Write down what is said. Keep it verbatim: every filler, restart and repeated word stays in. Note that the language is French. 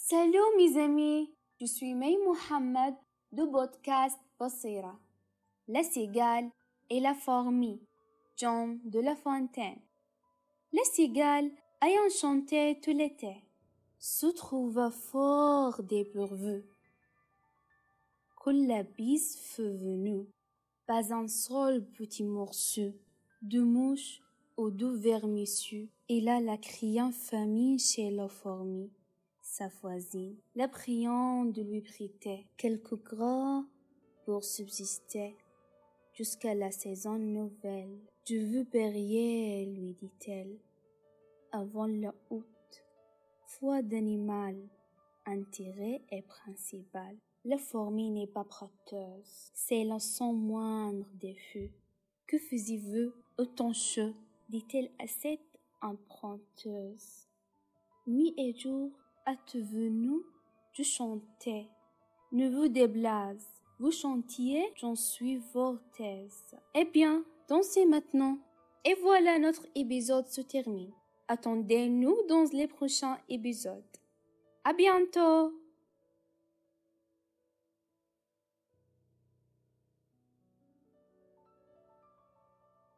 Salut mes amis, je suis May Mohamed du podcast Basira. La cigale et la fourmi, John de La Fontaine. La cigale, ayant chanté tout l'été, se trouva fort dépourvue. Quand la bise fut venue, pas un seul petit morceau de mouche ou de vermisseau. Et là, la criant famille chez la fourmi, sa voisine, la priant de lui prêter quelques gras pour subsister jusqu'à la saison nouvelle. Je veux périer, lui dit-elle, avant la août. Foi d'animal, intérêt est principal. La fourmi n'est pas prêteuse, c'est la son moindre défaut. Que faisiez-vous autant chaud, dit-elle à cette emprunteuse. Nuit et jour, hâte-vous-nous de chanter. Ne vous déblase, vous chantiez, j'en suis vorteuse. Eh bien, dansez maintenant. Et voilà, notre épisode se termine. Attendez-nous dans les prochains épisodes. À bientôt!